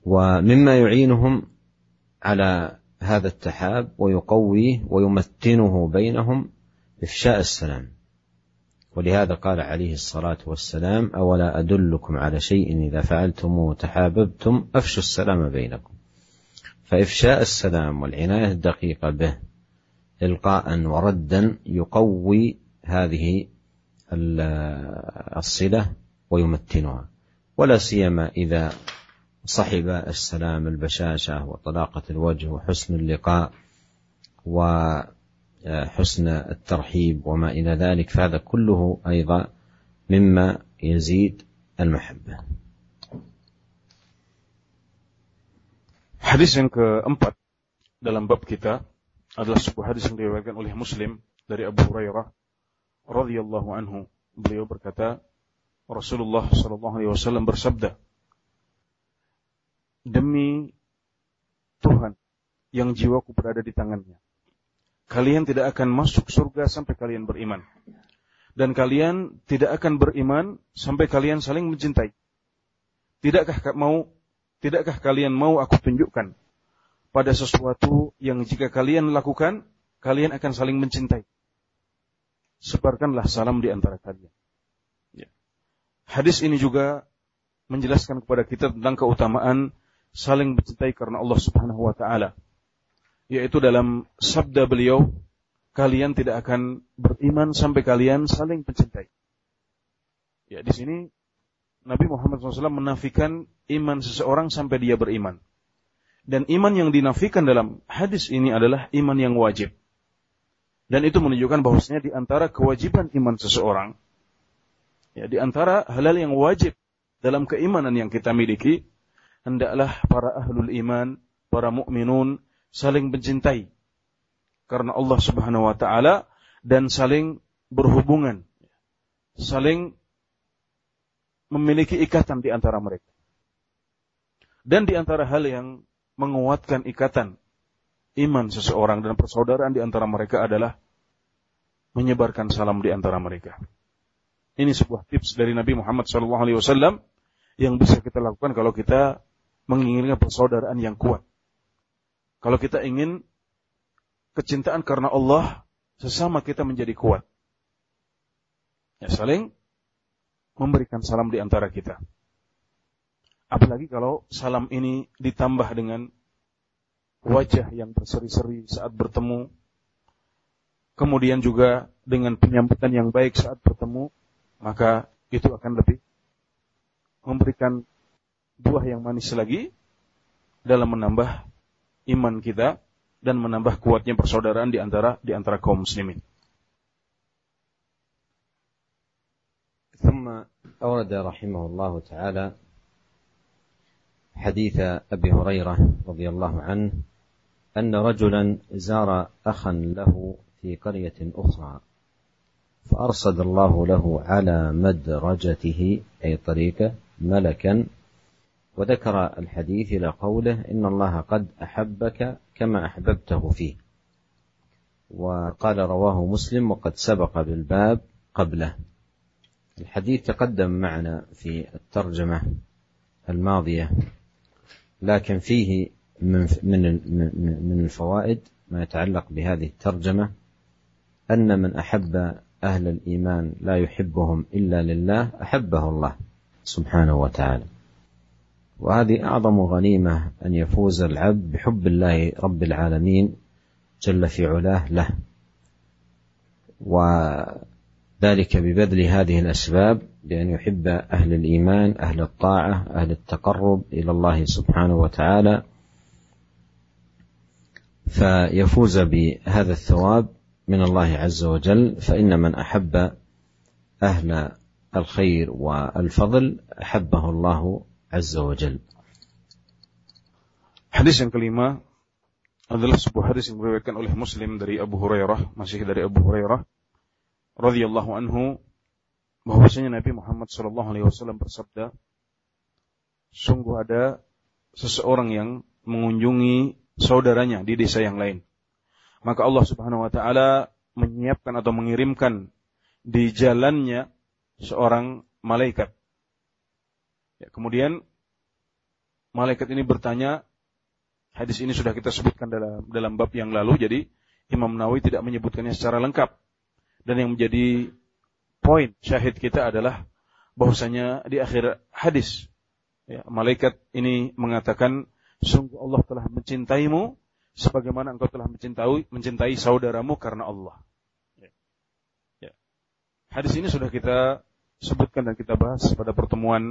ومما يعينهم على هذا التحاب ويقويه ويمتنه بينهم إفشاء السلام. ولهذا قال عليه الصلاة والسلام: أولا أدلكم على شيء إذا فعلتموه تحاببتم أفشوا السلام بينكم. فإفشاء السلام والعناية الدقيقة به إلقاء وردا يقوي هذه الصلة ويمتنها، ولا سيما إذا صحب السلام البشاشة وطلاقة الوجه وحسن اللقاء وحسن الترحيب وما إلى ذلك، فهذا كله أيضا مما يزيد المحبة. Hadis yang keempat dalam bab kita adalah sebuah hadis yang diriwayatkan oleh Muslim dari Abu Hurairah radhiyallahu anhu. Beliau berkata, Rasulullah sallallahu alaihi wasallam bersabda, demi Tuhan yang jiwaku berada di tangannya, kalian tidak akan masuk surga sampai kalian beriman, dan kalian tidak akan beriman sampai kalian saling mencintai. Tidakkah kalian mau aku tunjukkan pada sesuatu yang jika kalian lakukan, kalian akan saling mencintai? Sebarkanlah salam di antara kalian. Ya. Hadis ini juga menjelaskan kepada kita tentang keutamaan saling mencintai karena Allah Subhanahu wa ta'ala. Yaitu dalam sabda beliau, kalian tidak akan beriman sampai kalian saling mencintai. Ya, di sini Nabi Muhammad SAW menafikan iman seseorang sampai dia beriman. Dan iman yang dinafikan dalam hadis ini adalah iman yang wajib. Dan itu menunjukkan bahwasanya di antara kewajiban iman seseorang, ya, di antara hal-hal yang wajib dalam keimanan yang kita miliki, hendaklah para ahlul iman, para mukminun saling mencintai karena Allah Subhanahu wa ta'ala dan saling berhubungan, saling memiliki ikatan di antara mereka. Dan di antara hal yang menguatkan ikatan iman seseorang dan persaudaraan di antara mereka adalah menyebarkan salam di antara mereka. Ini sebuah tips dari Nabi Muhammad SAW yang bisa kita lakukan kalau kita menginginkan persaudaraan yang kuat. Kalau kita ingin kecintaan karena Allah sesama kita menjadi kuat, ya, saling memberikan salam di antara kita. Apalagi kalau salam ini ditambah dengan wajah yang berseri-seri saat bertemu, kemudian juga dengan penyambutan yang baik saat bertemu, maka itu akan lebih memberikan buah yang manis lagi dalam menambah iman kita dan menambah kuatnya persaudaraan di antara kaum muslimin. ثم أورد رحمه الله تعالى حديث أبي هريرة رضي الله عنه أن رجلا زار أخا له في قرية أخرى فأرصد الله له على مدرجته أي طريقه ملكا، وذكر الحديث إلى قوله إن الله قد أحبك كما أحببته فيه، وقال رواه مسلم وقد سبق بالباب قبله. الحديث تقدم معنا في الترجمة الماضية، لكن فيه من الفوائد ما يتعلق بهذه الترجمة أن من أحب أهل الإيمان لا يحبهم إلا لله أحبه الله سبحانه وتعالى. وهذه أعظم غنيمة أن يفوز العبد بحب الله رب العالمين جل في علاه له، وذلك ببذل هذه الأسباب بأن يحب أهل الإيمان أهل الطاعة أهل التقرب إلى الله سبحانه وتعالى، فيفوز بهذا الثواب من الله عز وجل. فإن من أحب أهل الخير والفضل أحبه الله عز وجل. Hadis yang kelima adalah sebuah hadis yang diriwayatkan oleh Muslim dari Abu Hurairah, masih dari Abu Hurairah radhiyallahu anhu, bahwasanya Nabi Muhammad sallallahu alaihi wasallam bersabda, sungguh ada seseorang yang mengunjungi saudaranya di desa yang lain, maka Allah Subhanahu wa taala menyiapkan atau mengirimkan di jalannya seorang malaikat, ya, kemudian malaikat ini bertanya, hadis ini sudah kita sebutkan dalam bab yang lalu, jadi Imam Nawawi tidak menyebutkannya secara lengkap. Dan yang menjadi poin syahid kita adalah bahwasanya di akhir hadis, ya, malaikat ini mengatakan, sungguh Allah telah mencintaimu sebagaimana engkau telah mencintai saudaramu karena Allah. Ya. Hadis ini sudah kita sebutkan dan kita bahas pada pertemuan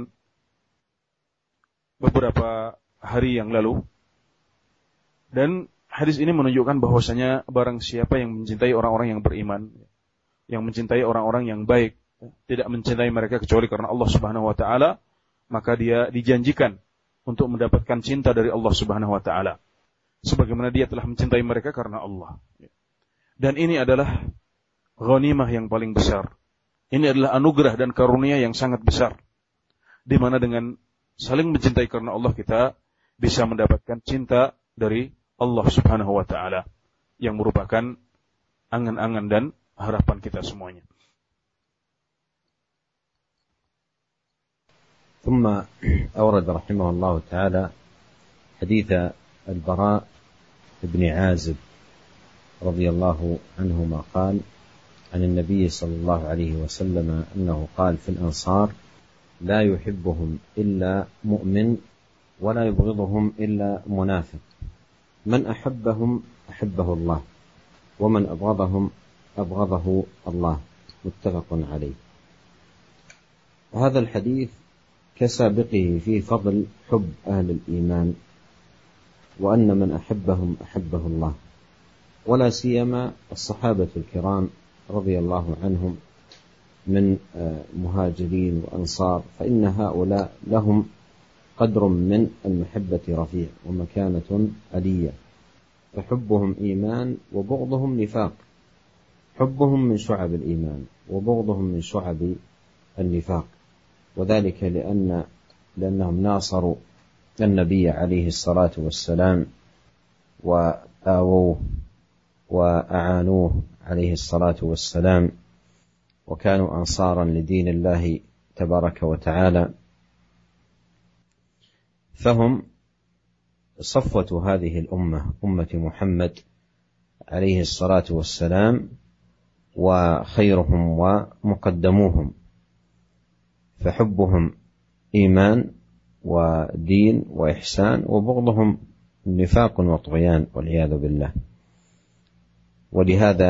beberapa hari yang lalu. Dan hadis ini menunjukkan bahwasanya barang siapa yang mencintai orang-orang yang beriman, yang mencintai orang-orang yang baik, tidak mencintai mereka kecuali karena Allah Subhanahu wa taala, maka dia dijanjikan untuk mendapatkan cinta dari Allah Subhanahu wa taala sebagaimana dia telah mencintai mereka karena Allah. Dan ini adalah ghanimah yang paling besar. Ini adalah anugerah dan karunia yang sangat besar, di mana dengan saling mencintai karena Allah kita bisa mendapatkan cinta dari Allah Subhanahu wa taala yang merupakan angan-angan dan harapan kita semuanya. ثم أورد رحمه الله تعالى حديث البراء بن عازب رضي الله عنهما قال عن النبي صلى الله عليه وسلم أنه قال في الأنصار لا يحبهم إلا مؤمن ولا يبغضهم إلا منافق من أحبهم أحبه الله ومن أبغضهم أبغضه الله متفق عليه. وهذا الحديث كسابقه في فضل حب أهل الإيمان وأن من أحبهم أحبه الله، ولا سيما الصحابة الكرام رضي الله عنهم من مهاجرين وأنصار، فإن هؤلاء لهم قدر من المحبة رفيع ومكانة علية، فحبهم إيمان وبغضهم نفاق، حبهم من شعب الإيمان وبغضهم من شعب النفاق، وذلك لأنهم ناصروا النبي عليه الصلاة والسلام وآووه وأعانوه عليه الصلاة والسلام وكانوا أنصارا لدين الله تبارك وتعالى، فهم صفوة هذه الأمة، أمة محمد عليه الصلاة والسلام، وخيرهم ومقدموهم، فحبهم إيمان ودين وإحسان، وبغضهم نفاق وطغيان والعياذ بالله. ولهذا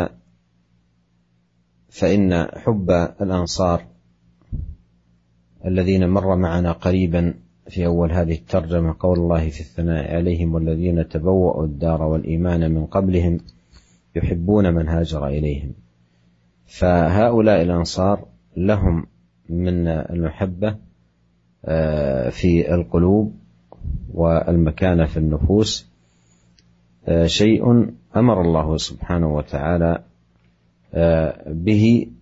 فإن حب الأنصار الذين مر معنا قريبا في أول هذه الترجمة قول الله في الثناء عليهم والذين تبوأوا الدار والإيمان من قبلهم يحبون من هاجر إليهم، فهؤلاء الأنصار لهم من المحبة في القلوب والمكانة في النفوس شيء أمر الله سبحانه وتعالى به،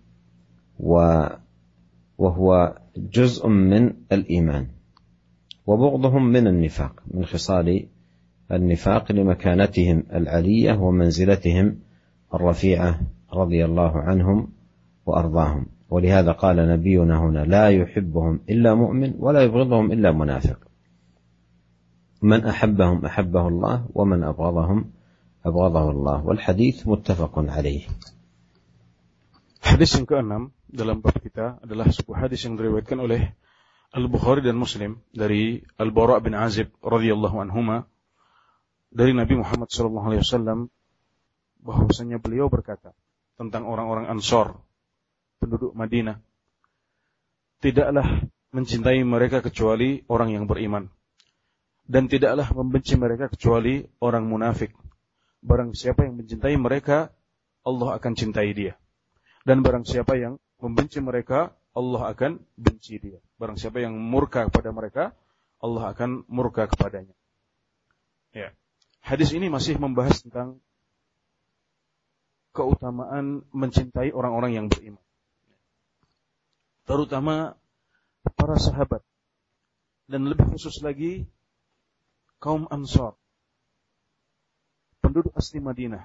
وهو جزء من الإيمان، وبغضهم من النفاق، من خصال النفاق لمكانتهم العلية ومنزلتهم الرفيعة رضي الله عنهم وأرضاهم. ولهذا قال نبينا هنا لا يحبهم إلا مؤمن ولا يبغضهم إلا منافق، من أحبهم أحبه الله ومن أبغضهم أبغضه الله. والحديث متفق عليه. Hadis yang ke-6 dalam bab kita adalah sebuah hadis yang diriwayatkan oleh Al-Bukhari dan Muslim dari Al-Bara' bin Azib radhiyallahu anhuma dari Nabi Muhammad sallallahu alaihi wasallam bahwasanya beliau berkata tentang orang-orang Ansor, penduduk Madinah, tidaklah mencintai mereka kecuali orang yang beriman, dan tidaklah membenci mereka kecuali orang munafik. Barang siapa yang mencintai mereka, Allah akan cintai dia. Dan barang siapa yang membenci mereka, Allah akan benci dia. Barang siapa yang murka kepada mereka, Allah akan murka kepadanya. Ya. Hadis ini masih membahas tentang keutamaan mencintai orang-orang yang beriman, terutama para sahabat, dan lebih khusus lagi kaum Ansar, penduduk asli Madinah.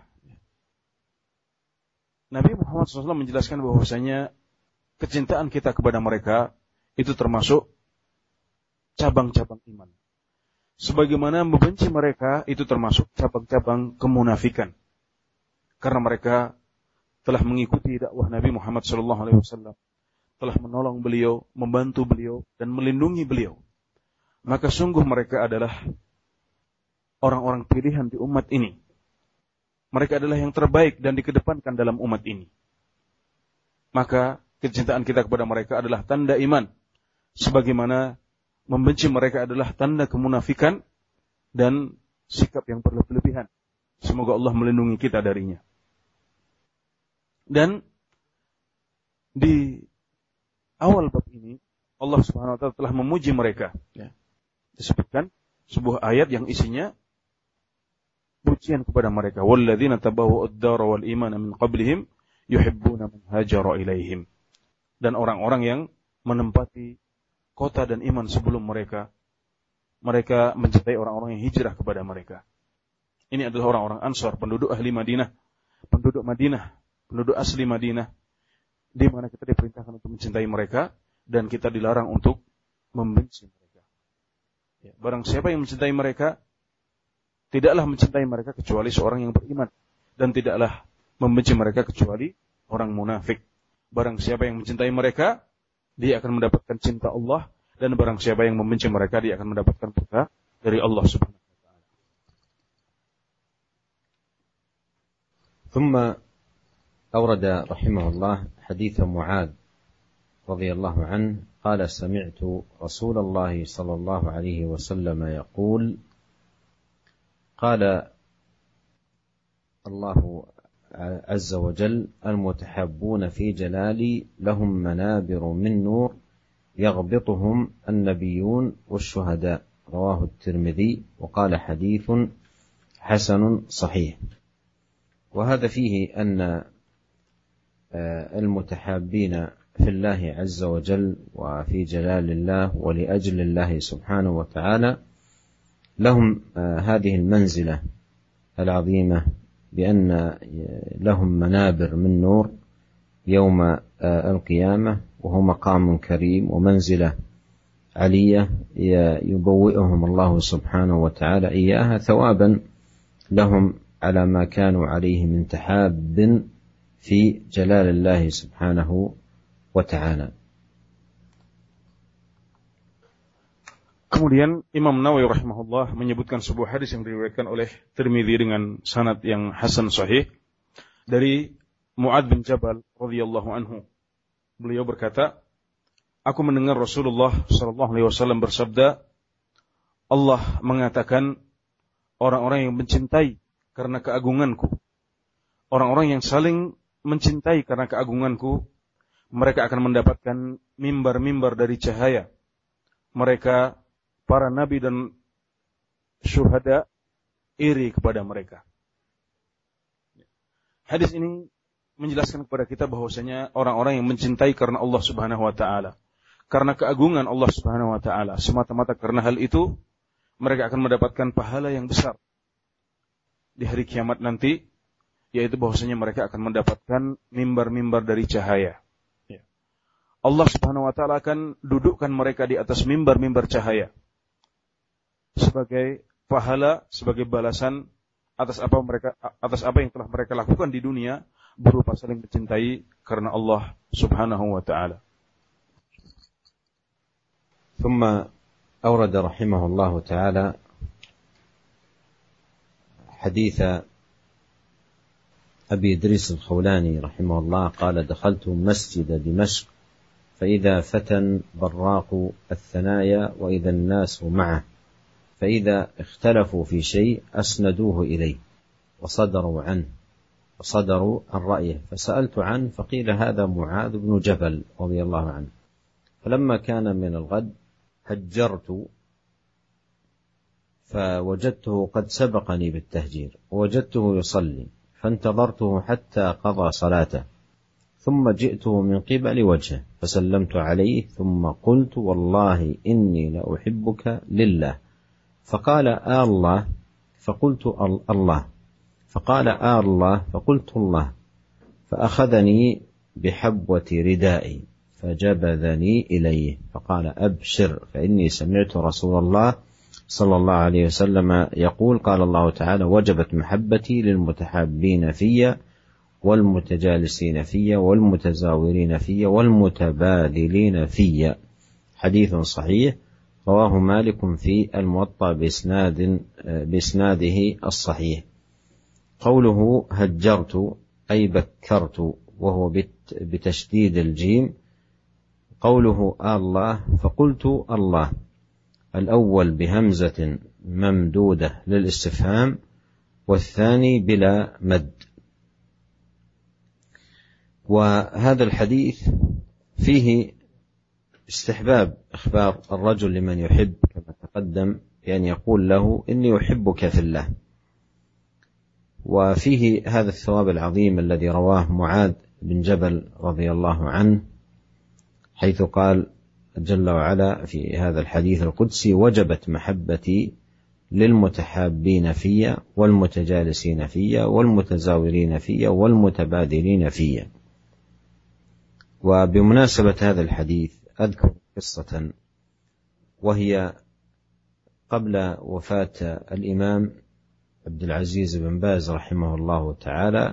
Nabi Muhammad SAW menjelaskan bahwasanya kecintaan kita kepada mereka itu termasuk cabang-cabang iman. sebagaimana membenci mereka itu termasuk cabang-cabang kemunafikan. Karena mereka telah mengikuti dakwah Nabi Muhammad SAW, telah menolong beliau, membantu beliau, dan melindungi beliau. Maka sungguh mereka adalah orang-orang pilihan di umat ini. Mereka adalah yang terbaik dan dikedepankan dalam umat ini. Maka kecintaan kita kepada mereka adalah tanda iman. Sebagaimana membenci mereka adalah tanda kemunafikan dan sikap yang berlebihan. Semoga Allah melindungi kita darinya. Dan di awal bab ini Allah Subhanahu wa taala telah memuji mereka. Ya. Disebutkan sebuah ayat yang isinya pujian kepada mereka. Walladzina tabawwa'u ad-dara wal imana min qablihim yuhibbuna man hajara ilaihim. Dan orang-orang yang menempati kota dan iman sebelum mereka mencintai orang-orang yang hijrah kepada mereka. Ini adalah orang-orang Ansar, penduduk ahli Madinah, penduduk Madinah, penduduk asli Madinah, di mana kita diperintahkan untuk mencintai mereka dan kita dilarang untuk membenci mereka. Ya, barang siapa yang mencintai mereka, tidaklah mencintai mereka kecuali seorang yang beriman, dan tidaklah membenci mereka kecuali orang munafik. Barang siapa yang mencintai mereka, dia akan mendapatkan cinta Allah, dan barang siapa yang membenci mereka, dia akan mendapatkan murka dari Allah Subhanahu wa taala. ثم أورد رحمه الله حديث معاذ رضي الله عنه قال سمعت رسول الله صلى الله عليه وسلم يقول قال الله عز وجل المتحابون في جلالي لهم منابر من نور يغبطهم النبيون والشهداء رواه الترمذي وقال حديث حسن صحيح. وهذا فيه أن المتحابين في الله عز وجل وفي جلال الله ولأجل الله سبحانه وتعالى لهم هذه المنزلة العظيمة بأن لهم منابر من نور يوم القيامة وهو مقام كريم ومنزلة علية يبوئهم الله سبحانه وتعالى إياها ثوابا لهم على ما كانوا عليه من تحاب في جلال الله سبحانه وتعالى. Kemudian Imam Nawawi rahimahullah menyebutkan sebuah hadis yang diriwayatkan oleh Tirmidzi dengan sanad yang hasan sahih dari Mu'adz bin Jabal radhiyallahu anhu. Beliau berkata, aku mendengar Rasulullah sallallahu alaihi wasallam bersabda, Allah mengatakan orang-orang yang mencintai karena keagunganku, orang-orang yang saling mencintai karena keagunganku, mereka akan mendapatkan mimbar-mimbar dari cahaya. Mereka, para nabi dan syuhada, iri kepada mereka. Hadis ini menjelaskan kepada kita bahwasanya orang-orang yang mencintai karena Allah Subhanahu wa taala, karena keagungan Allah Subhanahu wa taala, semata-mata karena hal itu, mereka akan mendapatkan pahala yang besar di hari kiamat nanti, yaitu bahwasanya mereka akan mendapatkan mimbar-mimbar dari cahaya. Allah Subhanahu wa taala akan dudukkan mereka di atas mimbar-mimbar cahaya sebagai pahala, sebagai balasan atas apa yang telah mereka lakukan di dunia berupa saling mencintai karena Allah Subhanahu wa taala. ثم أورد رحمه الله تعالى حديث أبي إدريس الخولاني رحمه الله قال دخلت مسجد دمشق فإذا فتى براق الثنايا وإذا الناس معه فإذا اختلفوا في شيء أسندوه إليه وصدروا عنه وصدروا عن رأيه فسألت عنه فقيل هذا معاذ بن جبل رضي الله عنه. فلما كان من الغد هجرت فوجدته قد سبقني بالتهجير ووجدته يصلي فانتظرته حتى قضى صلاته ثم جئته من قبل وجهه فسلمت عليه ثم قلت والله إني لأحبك لله فقال الله فقلت الله فقال الله فقلت الله فأخذني بحبوة ردائي فجبذني إليه فقال أبشر فإني سمعت رسول الله صلى الله عليه وسلم يقول: قال الله تعالى: وجبت محبتي للمتحابين في والمتجالسين في والمتزاورين في والمتبادلين في. حديث صحيح رواه مالك في الموطأ بإسناده الصحيح. قوله هجرت أي بكرت، وهو بتشديد الجيم. قوله الله فقلت الله، الأول بهمزة ممدودة للاستفهام، والثاني بلا مد. وهذا الحديث فيه استحباب إخبار الرجل لمن يحب كما تقدم بأن يقول له: إني أحبك في الله. وفيه هذا الثواب العظيم الذي رواه معاذ بن جبل رضي الله عنه، حيث قال جل وعلا في هذا الحديث القدسي: وجبت محبتي للمتحابين في والمتجالسين في والمتزاورين في والمتبادلين في. وبمناسبة هذا الحديث أذكر قصة، وهي قبل وفاة الإمام عبد العزيز بن باز رحمه الله تعالى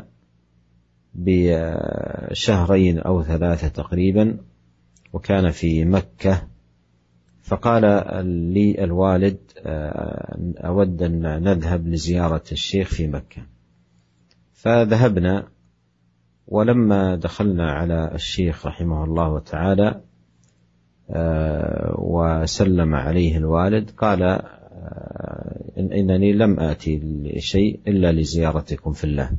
بشهرين أو 3 تقريبا، وكان في مكة. فقال لي الوالد: أود أن نذهب لزيارة الشيخ في مكة. فذهبنا، ولما دخلنا على الشيخ رحمه الله تعالى وسلم عليه الوالد، قال: إنني لم آتي لشيء إلا لزيارتكم في الله.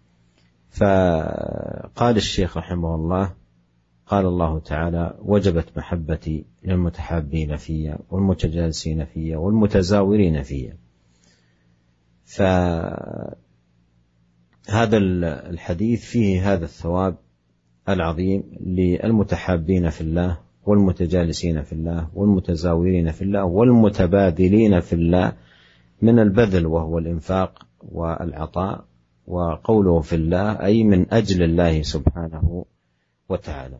فقال الشيخ رحمه الله: قال الله تعالى: وجبت محبتي للمتحابين في والمتجالسين في والمتزاورين في. فهذا الحديث فيه هذا الثواب العظيم للمتحابين في الله والمتجالسين في الله والمتزاورين في الله والمتبادلين في الله من البذل، وهو الإنفاق والعطاء. وقوله في الله أي من أجل الله سبحانه وتعالى.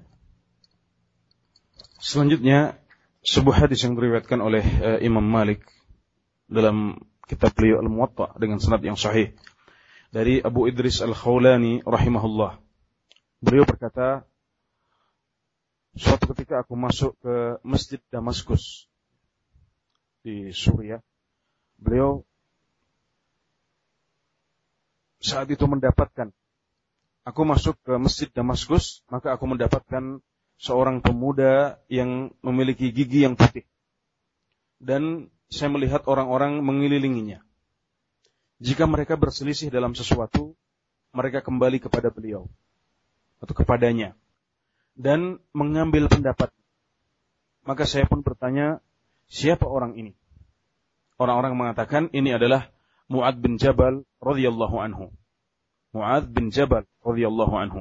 Selanjutnya sebuah hadis yang diriwayatkan oleh Imam Malik dalam kitab beliau Al-Muwatta dengan sanad yang sahih dari Abu Idris Al-Khawlani rahimahullah. Beliau berkata, suatu ketika aku masuk ke Masjid Damaskus di Suriah. Beliau saat itu mendapatkan, aku masuk ke Masjid Damaskus, maka aku mendapatkan seorang pemuda yang memiliki gigi yang putih. Dan saya melihat orang-orang mengelilinginya. Jika mereka berselisih dalam sesuatu, mereka kembali kepada beliau atau kepadanya dan mengambil pendapat. Maka saya pun bertanya, siapa orang ini? Orang-orang mengatakan ini adalah Mu'adz bin Jabal radhiyallahu anhu. Mu'adz bin Jabal radhiyallahu anhu.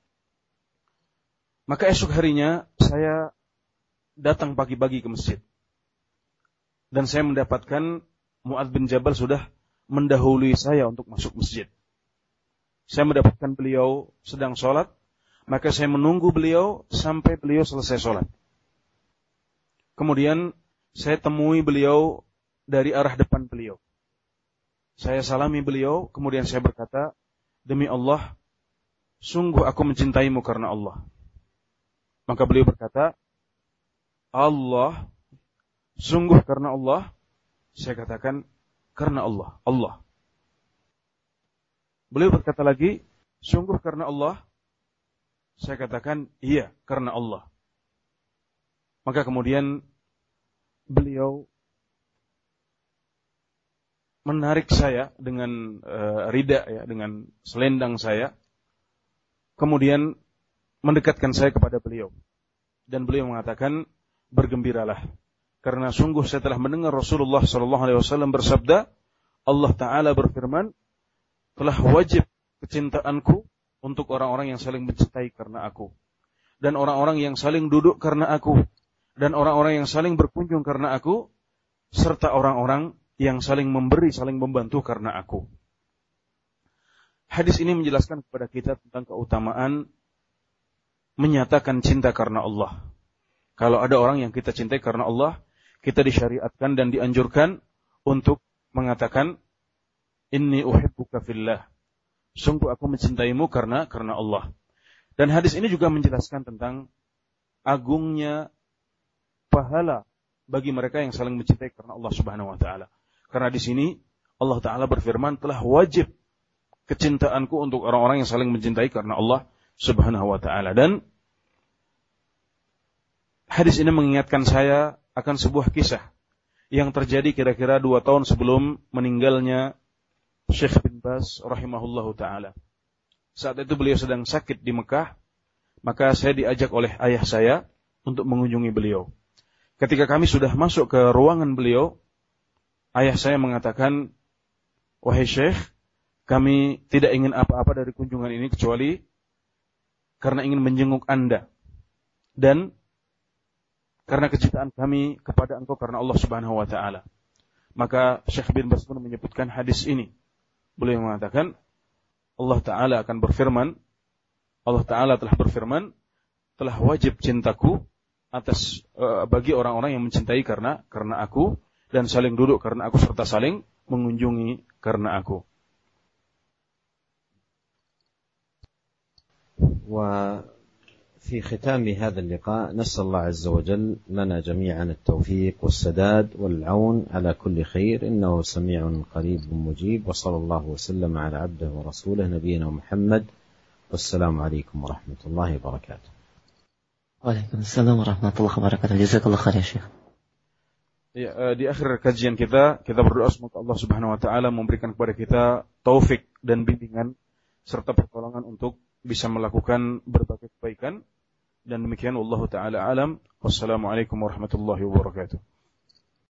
Maka esok harinya saya datang pagi-pagi ke masjid. Dan saya mendapatkan Mu'adz bin Jabal sudah mendahului saya untuk masuk masjid. Saya mendapatkan beliau sedang sholat, maka saya menunggu beliau sampai beliau selesai sholat. Kemudian saya temui beliau dari arah depan beliau. Saya salami beliau, kemudian saya berkata, demi Allah, sungguh aku mencintaimu karena Allah. Maka beliau berkata, Allah, sungguh karena Allah. Saya katakan, karena Allah, Allah. Beliau berkata lagi, sungguh karena Allah. Saya katakan, iya, karena Allah. Maka kemudian beliau menarik saya dengan rida, ya, dengan selendang saya. Kemudian mendekatkan saya kepada beliau. Dan beliau mengatakan, bergembiralah. Karena sungguh saya telah mendengar Rasulullah SAW bersabda, Allah Ta'ala berfirman, telah wajib kecintaanku untuk orang-orang yang saling mencintai karena aku. Dan orang-orang yang saling duduk karena aku. Dan orang-orang yang saling berkunjung karena aku. Serta orang-orang yang saling memberi, saling membantu karena aku. Hadis ini menjelaskan kepada kita tentang keutamaan menyatakan cinta karena Allah. Kalau ada orang yang kita cintai karena Allah, kita disyariatkan dan dianjurkan untuk mengatakan inni uhibbuka fillah. Sungguh aku mencintaimu karena Allah. Dan hadis ini juga menjelaskan tentang agungnya pahala bagi mereka yang saling mencintai karena Allah Subhanahu wa taala. Karena di sini Allah taala berfirman, telah wajib kecintaanku untuk orang-orang yang saling mencintai karena Allah Subhanahu wa taala. Dan hadis ini mengingatkan saya akan sebuah kisah yang terjadi kira-kira 2 tahun sebelum meninggalnya Syekh bin Baz rahimahullahu taala. Saat itu beliau sedang sakit di Mekah, maka saya diajak oleh ayah saya untuk mengunjungi beliau. Ketika kami sudah masuk ke ruangan beliau, ayah saya mengatakan, "Wahai Syekh, kami tidak ingin apa-apa dari kunjungan ini kecuali karena ingin menjenguk Anda dan karena kecintaan kami kepada Engkau karena Allah Subhanahu wa taala." Maka Syekh bin Baz pun menyebutkan hadis ini. Beliau mengatakan, Allah Ta'ala telah berfirman, telah wajib cintaku bagi orang-orang yang mencintai karena aku, dan saling duduk karena aku, serta saling mengunjungi karena aku. وفي ختام هذا اللقاء نسأل الله عز وجل لنا جميعا التوفيق والسداد والعون على كل خير إنه سميع قريب مجيب وصلى الله وسلم على عبده ورسوله نبينا محمد والسلام عليكم ورحمة الله وبركاته. وعليكم السلام ورحمة الله وبركاته. جزاك الله خير يا شيخ. Di akhir kajian kita berdoa semoga Allah Subhanahu wa taala memberikan kepada kita taufik dan bimbingan serta pertolongan untuk bisa melakukan berbagai kebaikan, dan demikian wallahu taala alam. Wassalamualaikum warahmatullahi wabarakatuh.